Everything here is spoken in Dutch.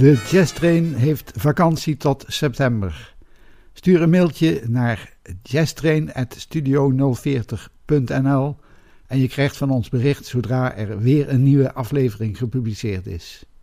De Jazz Train heeft vakantie tot september. Stuur een mailtje naar jazztrain@studio040.nl en je krijgt van ons bericht zodra er weer een nieuwe aflevering gepubliceerd is.